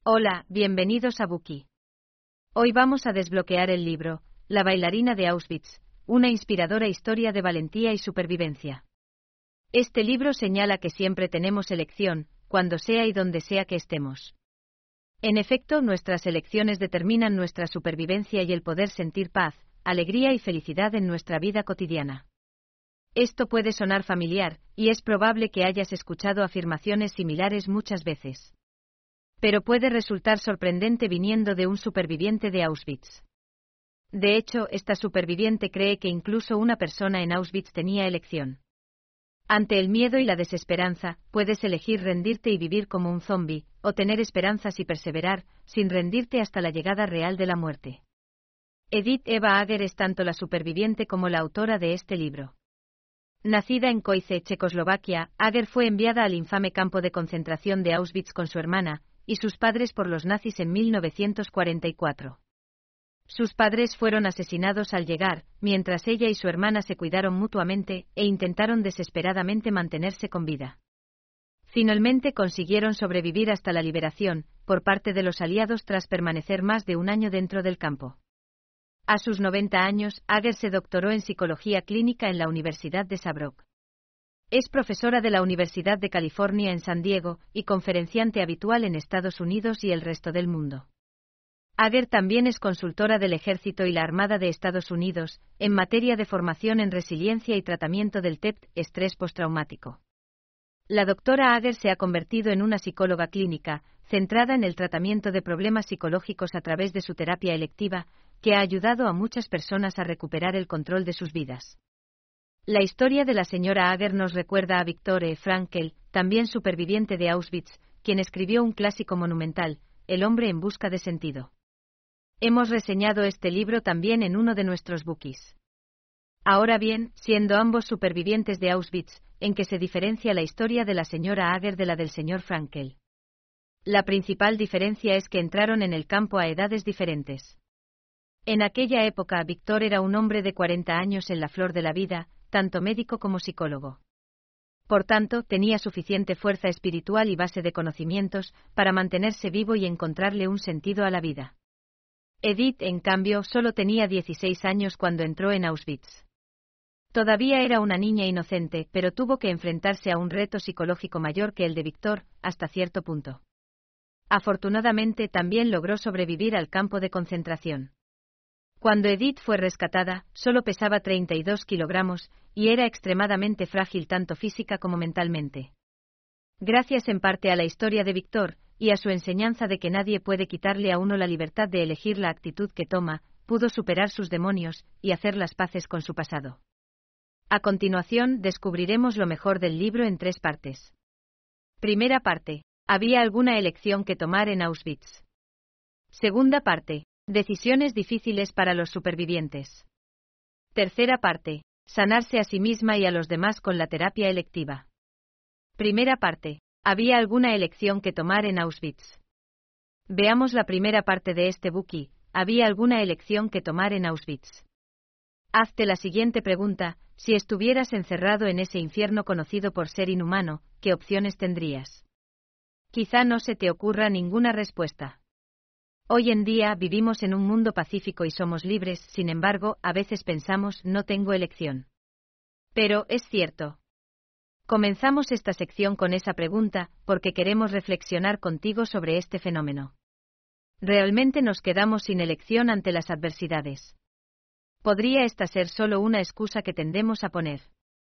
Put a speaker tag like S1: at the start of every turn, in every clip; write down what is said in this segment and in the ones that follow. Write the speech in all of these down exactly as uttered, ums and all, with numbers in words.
S1: Hola, bienvenidos a Buki. Hoy vamos a desbloquear el libro, La bailarina de Auschwitz, una inspiradora historia de valentía y supervivencia. Este libro señala que siempre tenemos elección, cuando sea y donde sea que estemos. En efecto, nuestras elecciones determinan nuestra supervivencia y el poder sentir paz, alegría y felicidad en nuestra vida cotidiana. Esto puede sonar familiar, y es probable que hayas escuchado afirmaciones similares muchas veces. Pero puede resultar sorprendente viniendo de un superviviente de Auschwitz. De hecho, esta superviviente cree que incluso una persona en Auschwitz tenía elección. Ante el miedo y la desesperanza, puedes elegir rendirte y vivir como un zombi, o tener esperanzas y perseverar, sin rendirte hasta la llegada real de la muerte. Edith Eva Ager es tanto la superviviente como la autora de este libro. Nacida en Koize, Checoslovaquia, Ager fue enviada al infame campo de concentración de Auschwitz con su hermana y sus padres por los nazis en mil novecientos cuarenta y cuatro. Sus padres fueron asesinados al llegar, mientras ella y su hermana se cuidaron mutuamente e intentaron desesperadamente mantenerse con vida. Finalmente consiguieron sobrevivir hasta la liberación, por parte de los aliados tras permanecer más de un año dentro del campo. A sus noventa años, Ager se doctoró en psicología clínica en la Universidad de Saarbrück. Es profesora de la Universidad de California en San Diego y conferenciante habitual en Estados Unidos y el resto del mundo. Ager también es consultora del Ejército y la Armada de Estados Unidos, en materia de formación en resiliencia y tratamiento del T E P T, estrés postraumático. La doctora Ager se ha convertido en una psicóloga clínica, centrada en el tratamiento de problemas psicológicos a través de su terapia electiva, que ha ayudado a muchas personas a recuperar el control de sus vidas. La historia de la señora Ager nos recuerda a Viktor Frankl, también superviviente de Auschwitz, quien escribió un clásico monumental, El hombre en busca de sentido. Hemos reseñado este libro también en uno de nuestros bookies. Ahora bien, siendo ambos supervivientes de Auschwitz, ¿en qué se diferencia la historia de la señora Ager de la del señor Frankl? La principal diferencia es que entraron en el campo a edades diferentes. En aquella época, Viktor era un hombre de cuarenta años en la flor de la vida, tanto médico como psicólogo. Por tanto, tenía suficiente fuerza espiritual y base de conocimientos para mantenerse vivo y encontrarle un sentido a la vida. Edith, en cambio, solo tenía dieciséis años cuando entró en Auschwitz. Todavía era una niña inocente, pero tuvo que enfrentarse a un reto psicológico mayor que el de Viktor, hasta cierto punto. Afortunadamente, también logró sobrevivir al campo de concentración. Cuando Edith fue rescatada, solo pesaba treinta y dos kilogramos, y era extremadamente frágil tanto física como mentalmente. Gracias en parte a la historia de Viktor, y a su enseñanza de que nadie puede quitarle a uno la libertad de elegir la actitud que toma, pudo superar sus demonios, y hacer las paces con su pasado. A continuación, descubriremos lo mejor del libro en tres partes. Primera parte. ¿Había alguna elección que tomar en Auschwitz? Segunda parte. Decisiones difíciles para los supervivientes. Tercera parte. Sanarse a sí misma y a los demás con la terapia electiva. Primera parte. ¿Había alguna elección que tomar en Auschwitz? Veamos la primera parte de este bookie. ¿Había alguna elección que tomar en Auschwitz? Hazte la siguiente pregunta: si estuvieras encerrado en ese infierno conocido por ser inhumano, ¿qué opciones tendrías? Quizá no se te ocurra ninguna respuesta. Hoy en día vivimos en un mundo pacífico y somos libres, sin embargo, a veces pensamos, no tengo elección. Pero, es cierto. Comenzamos esta sección con esa pregunta, porque queremos reflexionar contigo sobre este fenómeno. ¿Realmente nos quedamos sin elección ante las adversidades? ¿Podría esta ser solo una excusa que tendemos a poner?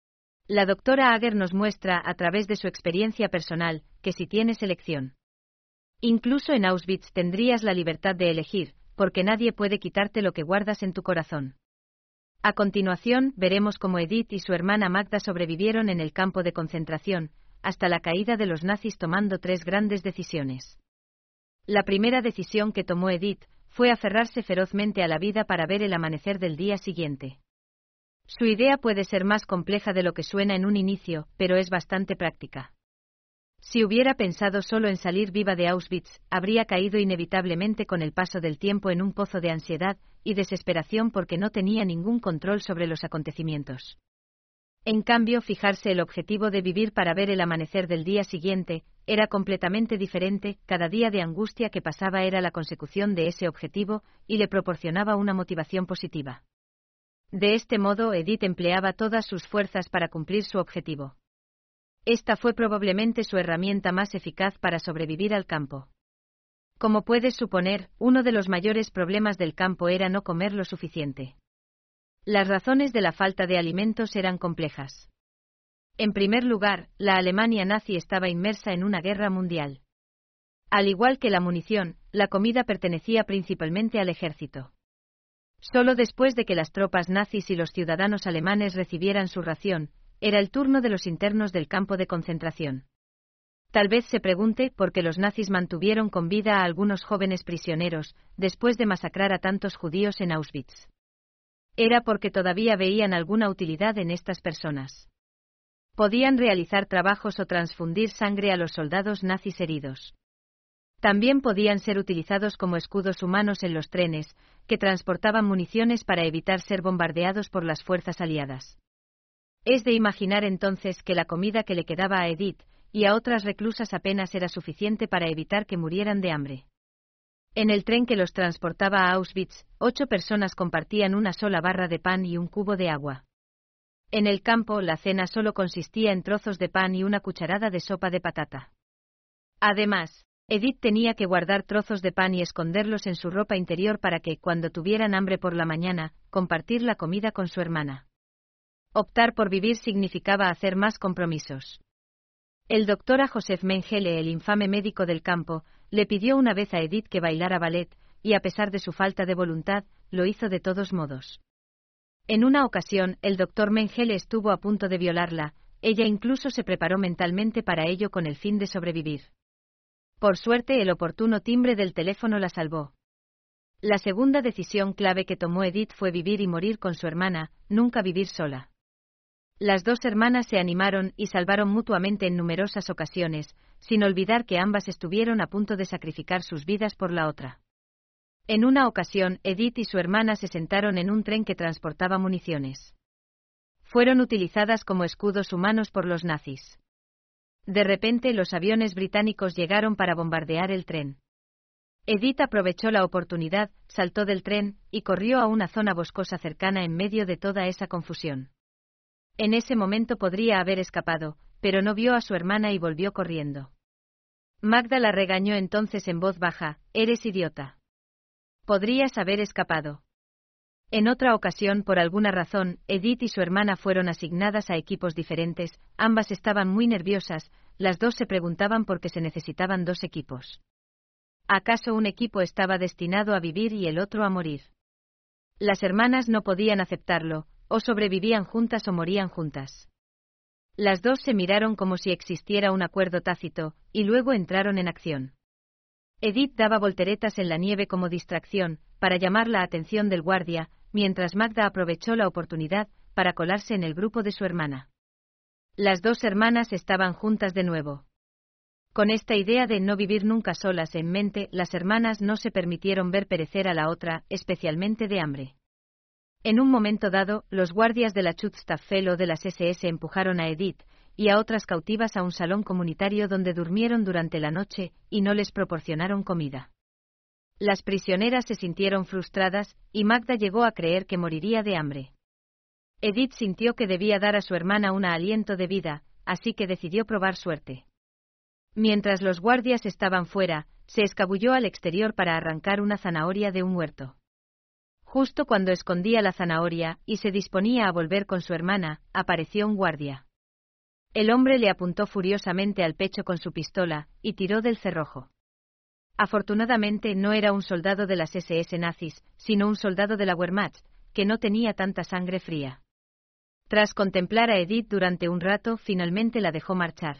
S1: La doctora Ager nos muestra, a través de su experiencia personal, que si tienes elección. Incluso en Auschwitz tendrías la libertad de elegir, porque nadie puede quitarte lo que guardas en tu corazón. A continuación, veremos cómo Edith y su hermana Magda sobrevivieron en el campo de concentración, hasta la caída de los nazis tomando tres grandes decisiones. La primera decisión que tomó Edith fue aferrarse ferozmente a la vida para ver el amanecer del día siguiente. Su idea puede ser más compleja de lo que suena en un inicio, pero es bastante práctica. Si hubiera pensado solo en salir viva de Auschwitz, habría caído inevitablemente con el paso del tiempo en un pozo de ansiedad y desesperación porque no tenía ningún control sobre los acontecimientos. En cambio, fijarse el objetivo de vivir para ver el amanecer del día siguiente, era completamente diferente, cada día de angustia que pasaba era la consecución de ese objetivo, y le proporcionaba una motivación positiva. De este modo, Edith empleaba todas sus fuerzas para cumplir su objetivo. Esta fue probablemente su herramienta más eficaz para sobrevivir al campo. Como puedes suponer, uno de los mayores problemas del campo era no comer lo suficiente. Las razones de la falta de alimentos eran complejas. En primer lugar, la Alemania nazi estaba inmersa en una guerra mundial. Al igual que la munición, la comida pertenecía principalmente al ejército. Solo después de que las tropas nazis y los ciudadanos alemanes recibieran su ración, era el turno de los internos del campo de concentración. Tal vez se pregunte por qué los nazis mantuvieron con vida a algunos jóvenes prisioneros, después de masacrar a tantos judíos en Auschwitz. Era porque todavía veían alguna utilidad en estas personas. Podían realizar trabajos o transfundir sangre a los soldados nazis heridos. También podían ser utilizados como escudos humanos en los trenes, que transportaban municiones para evitar ser bombardeados por las fuerzas aliadas. Es de imaginar entonces que la comida que le quedaba a Edith y a otras reclusas apenas era suficiente para evitar que murieran de hambre. En el tren que los transportaba a Auschwitz, ocho personas compartían una sola barra de pan y un cubo de agua. En el campo, la cena solo consistía en trozos de pan y una cucharada de sopa de patata. Además, Edith tenía que guardar trozos de pan y esconderlos en su ropa interior para que, cuando tuvieran hambre por la mañana, compartir la comida con su hermana. Optar por vivir significaba hacer más compromisos. El doctor A. Joseph Mengele, el infame médico del campo, le pidió una vez a Edith que bailara ballet, y a pesar de su falta de voluntad, lo hizo de todos modos. En una ocasión, el doctor Mengele estuvo a punto de violarla, ella incluso se preparó mentalmente para ello con el fin de sobrevivir. Por suerte, el oportuno timbre del teléfono la salvó. La segunda decisión clave que tomó Edith fue vivir y morir con su hermana, nunca vivir sola. Las dos hermanas se animaron y salvaron mutuamente en numerosas ocasiones, sin olvidar que ambas estuvieron a punto de sacrificar sus vidas por la otra. En una ocasión, Edith y su hermana se sentaron en un tren que transportaba municiones. Fueron utilizadas como escudos humanos por los nazis. De repente, los aviones británicos llegaron para bombardear el tren. Edith aprovechó la oportunidad, saltó del tren, y corrió a una zona boscosa cercana en medio de toda esa confusión. En ese momento podría haber escapado, pero no vio a su hermana y volvió corriendo. Magda la regañó entonces en voz baja: «Eres idiota. Podrías haber escapado». En otra ocasión, por alguna razón, Edith y su hermana fueron asignadas a equipos diferentes, ambas estaban muy nerviosas, las dos se preguntaban por qué se necesitaban dos equipos. ¿Acaso un equipo estaba destinado a vivir y el otro a morir? Las hermanas no podían aceptarlo, o sobrevivían juntas o morían juntas. Las dos se miraron como si existiera un acuerdo tácito, y luego entraron en acción. Edith daba volteretas en la nieve como distracción, para llamar la atención del guardia, mientras Magda aprovechó la oportunidad para colarse en el grupo de su hermana. Las dos hermanas estaban juntas de nuevo. Con esta idea de no vivir nunca solas en mente, las hermanas no se permitieron ver perecer a la otra, especialmente de hambre. En un momento dado, los guardias de la Schutzstaffel o de las ese ese empujaron a Edith y a otras cautivas a un salón comunitario donde durmieron durante la noche y no les proporcionaron comida. Las prisioneras se sintieron frustradas y Magda llegó a creer que moriría de hambre. Edith sintió que debía dar a su hermana un aliento de vida, así que decidió probar suerte. Mientras los guardias estaban fuera, se escabulló al exterior para arrancar una zanahoria de un huerto. Justo cuando escondía la zanahoria y se disponía a volver con su hermana, apareció un guardia. El hombre le apuntó furiosamente al pecho con su pistola y tiró del cerrojo. Afortunadamente no era un soldado de las ese ese nazis, sino un soldado de la Wehrmacht, que no tenía tanta sangre fría. Tras contemplar a Edith durante un rato, finalmente la dejó marchar.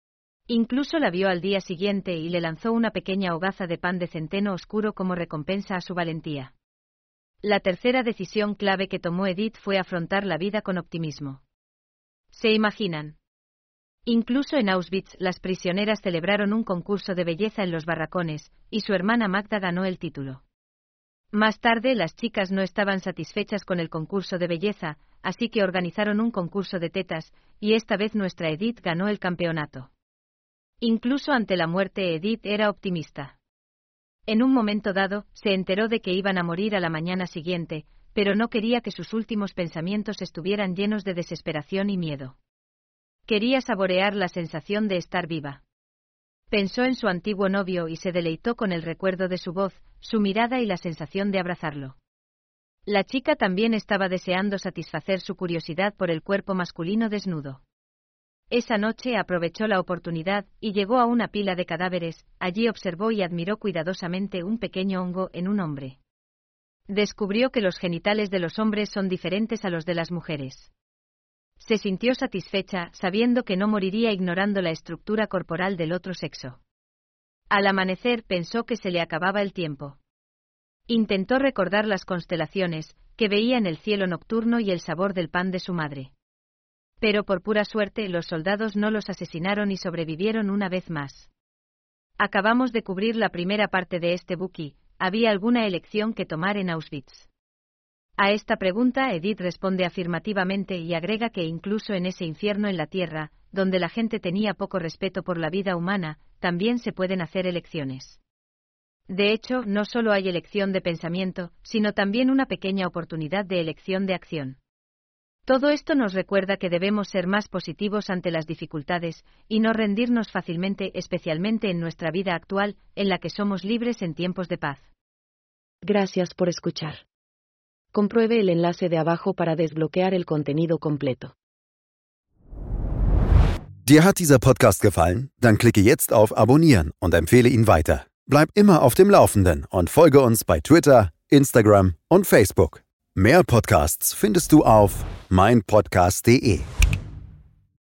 S1: Incluso la vio al día siguiente y le lanzó una pequeña hogaza de pan de centeno oscuro como recompensa a su valentía. La tercera decisión clave que tomó Edith fue afrontar la vida con optimismo. ¿Se imaginan? Incluso en Auschwitz, las prisioneras celebraron un concurso de belleza en los barracones, y su hermana Magda ganó el título. Más tarde, las chicas no estaban satisfechas con el concurso de belleza, así que organizaron un concurso de tetas, y esta vez nuestra Edith ganó el campeonato. Incluso ante la muerte, Edith era optimista. En un momento dado, se enteró de que iban a morir a la mañana siguiente, pero no quería que sus últimos pensamientos estuvieran llenos de desesperación y miedo. Quería saborear la sensación de estar viva. Pensó en su antiguo novio y se deleitó con el recuerdo de su voz, su mirada y la sensación de abrazarlo. La chica también estaba deseando satisfacer su curiosidad por el cuerpo masculino desnudo. Esa noche aprovechó la oportunidad y llegó a una pila de cadáveres. Allí observó y admiró cuidadosamente un pequeño hongo en un hombre. Descubrió que los genitales de los hombres son diferentes a los de las mujeres. Se sintió satisfecha, sabiendo que no moriría ignorando la estructura corporal del otro sexo. Al amanecer pensó que se le acababa el tiempo. Intentó recordar las constelaciones, que veía en el cielo nocturno y el sabor del pan de su madre. Pero por pura suerte los soldados no los asesinaron y sobrevivieron una vez más. Acabamos de cubrir la primera parte de este buki. ¿Había alguna elección que tomar en Auschwitz? A esta pregunta Edith responde afirmativamente y agrega que incluso en ese infierno en la tierra, donde la gente tenía poco respeto por la vida humana, también se pueden hacer elecciones. De hecho, no solo hay elección de pensamiento, sino también una pequeña oportunidad de elección de acción. Todo esto nos recuerda que debemos ser más positivos ante las dificultades, y no rendirnos fácilmente, especialmente en nuestra vida actual, en la que somos libres en tiempos de paz.
S2: Gracias por escuchar. Compruebe el enlace de abajo para desbloquear el contenido completo.
S3: Dir hat dieser Podcast gefallen? Dann klicke jetzt auf Abonnieren und empfehle ihn weiter. Bleib immer auf dem Laufenden und folge uns bei Twitter, Instagram und Facebook. Mehr Podcasts findest du auf mein podcast punkt de.